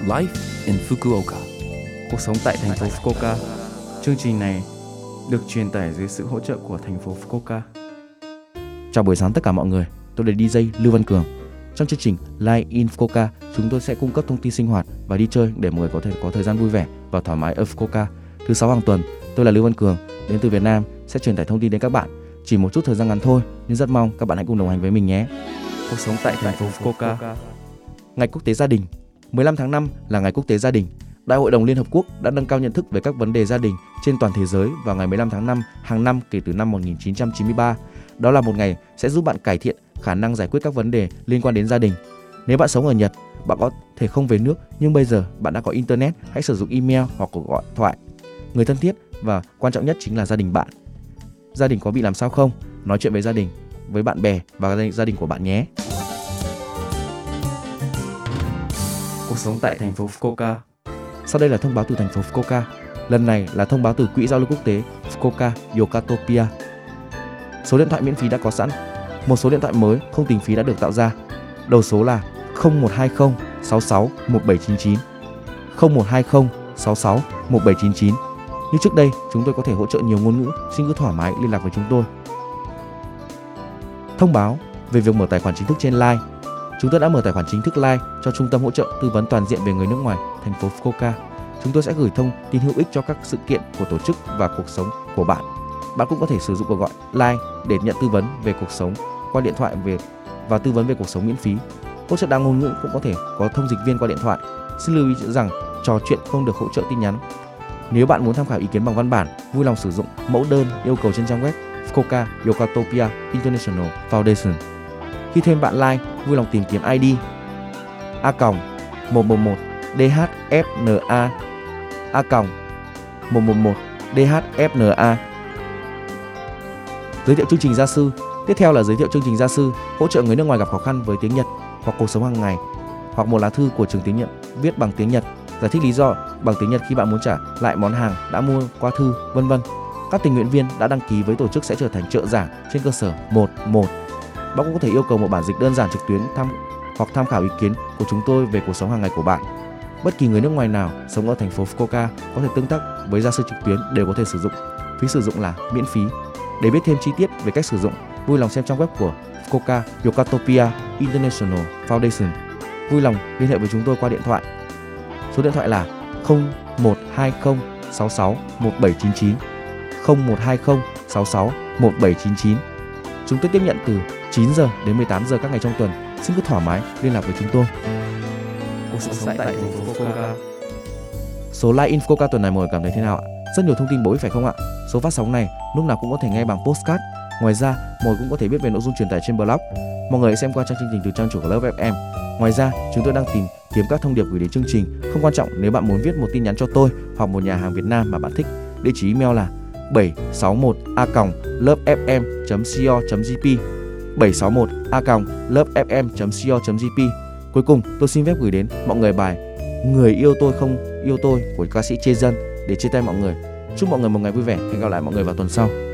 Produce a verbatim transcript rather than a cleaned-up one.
Life in Fukuoka. Cuộc sống tại thành phố Fukuoka. Chương trình này được truyền tải dưới sự hỗ trợ của thành phố Fukuoka. Chào buổi sáng tất cả mọi người, tôi là đi jay Lưu Văn Cường. Trong chương trình Life in Fukuoka, chúng tôi sẽ cung cấp thông tin sinh hoạt và đi chơi để mọi người có thể có thời gian vui vẻ và thoải mái ở Fukuoka. Thứ sáu hàng tuần, tôi là Lưu Văn Cường, đến từ Việt Nam, sẽ truyền tải thông tin đến các bạn. Chỉ một chút thời gian ngắn thôi, nhưng rất mong các bạn hãy cùng đồng hành với mình nhé. Cuộc sống tại thành phố Fukuoka. Ngày Quốc tế Gia đình. mười lăm tháng năm là Ngày Quốc tế Gia đình. Đại hội đồng Liên Hợp Quốc đã nâng cao nhận thức về các vấn đề gia đình trên toàn thế giới vào ngày mười lăm tháng năm hàng năm kể từ năm một nghìn chín trăm chín mươi ba. Đó là một ngày sẽ giúp bạn cải thiện khả năng giải quyết các vấn đề liên quan đến gia đình. Nếu bạn sống ở Nhật, bạn có thể không về nước, nhưng bây giờ bạn đã có Internet, hãy sử dụng email hoặc cuộc gọi thoại. Người thân thiết và quan trọng nhất chính là gia đình bạn. Gia đình có bị làm sao không? Nói chuyện với gia đình, với bạn bè và gia đình của bạn nhé. Cuộc sống tại thành phố Fukuoka. Sau đây là thông báo từ thành phố Fukuoka. Lần này là thông báo từ Quỹ Giao lưu Quốc tế Fukuoka Yokatopia. Số điện thoại miễn phí đã có sẵn. Một số điện thoại mới không tính phí đã được tạo ra. Đầu số là không một hai không sáu sáu một bảy chín chín, không một hai không sáu sáu một bảy chín chín. Như trước đây, chúng tôi có thể hỗ trợ nhiều ngôn ngữ, xin cứ thoải mái liên lạc với chúng tôi. Thông báo về việc mở tài khoản chính thức trên Line. Chúng tôi đã mở tài khoản chính thức Line cho Trung tâm hỗ trợ tư vấn toàn diện về người nước ngoài thành phố Fukuoka. Chúng tôi sẽ gửi thông tin hữu ích cho các sự kiện của tổ chức và cuộc sống của bạn. Bạn cũng có thể sử dụng cuộc gọi Line để nhận tư vấn về cuộc sống qua điện thoại về và tư vấn về cuộc sống miễn phí. Hỗ trợ đa ngôn ngữ cũng có thể có thông dịch viên qua điện thoại. Xin lưu ý rằng trò chuyện không được hỗ trợ tin nhắn. Nếu bạn muốn tham khảo ý kiến bằng văn bản, vui lòng sử dụng mẫu đơn yêu cầu trên trang web Fukuoka Yokatopia International Foundation. Khi thêm bạn Line, vui lòng tìm kiếm i đê a còng một một một D H F N A a còng một một một D H F N A. Giới thiệu chương trình gia sư. Tiếp theo là giới thiệu chương trình gia sư, hỗ trợ người nước ngoài gặp khó khăn với tiếng Nhật hoặc cuộc sống hàng ngày, hoặc một lá thư của trường tiếng Nhật viết bằng tiếng Nhật, giải thích lý do bằng tiếng Nhật khi bạn muốn trả lại món hàng đã mua qua thư, vân vân. Các tình nguyện viên đã đăng ký với tổ chức sẽ trở thành trợ giảng trên cơ sở một một. Bạn cũng có thể yêu cầu một bản dịch đơn giản trực tuyến tham hoặc tham khảo ý kiến của chúng tôi về cuộc sống hàng ngày của bạn. Bất kỳ người nước ngoài nào sống ở thành phố Fukuoka có thể tương tác với gia sư trực tuyến đều có thể sử dụng. Phí sử dụng là miễn phí. Để biết thêm chi tiết về cách sử dụng, vui lòng xem trang web của Fukuoka Yokatopia International Foundation. Vui lòng liên hệ với chúng tôi qua điện thoại. Số điện thoại là không một hai không sáu sáu một bảy chín chín, không một hai không sáu sáu một bảy chín chín. Chúng tôi tiếp nhận từ chín giờ đến mười tám giờ các ngày trong tuần. Xin cứ thoải mái liên lạc với chúng tôi. Cuộc sống tại thành phố Fukuoka. Số Live in Fukuoka tuần này mọi người cảm thấy thế nào ạ? Rất nhiều thông tin bổ ích phải không ạ? Số phát sóng này lúc nào cũng có thể nghe bằng podcast. Ngoài ra, mọi người cũng có thể biết về nội dung truyền tải trên blog. Mọi người hãy xem qua trang chương trình từ trang chủ của Love ép em. Ngoài ra, chúng tôi đang tìm kiếm các thông điệp gửi đến chương trình. Không quan trọng nếu bạn muốn viết một tin nhắn cho tôi hoặc một nhà hàng Việt Nam mà bạn thích. Địa chỉ email là bảy sáu một a còng lovefm chấm co chấm jp, bảy sáu một a còng lovefm chấm co chấm jp. Cuối cùng, tôi xin phép gửi đến mọi người bài Người yêu tôi không yêu tôi của ca sĩ Chê Dân để chia tay mọi người. Chúc mọi người một ngày vui vẻ. Hẹn gặp lại mọi người vào tuần sau.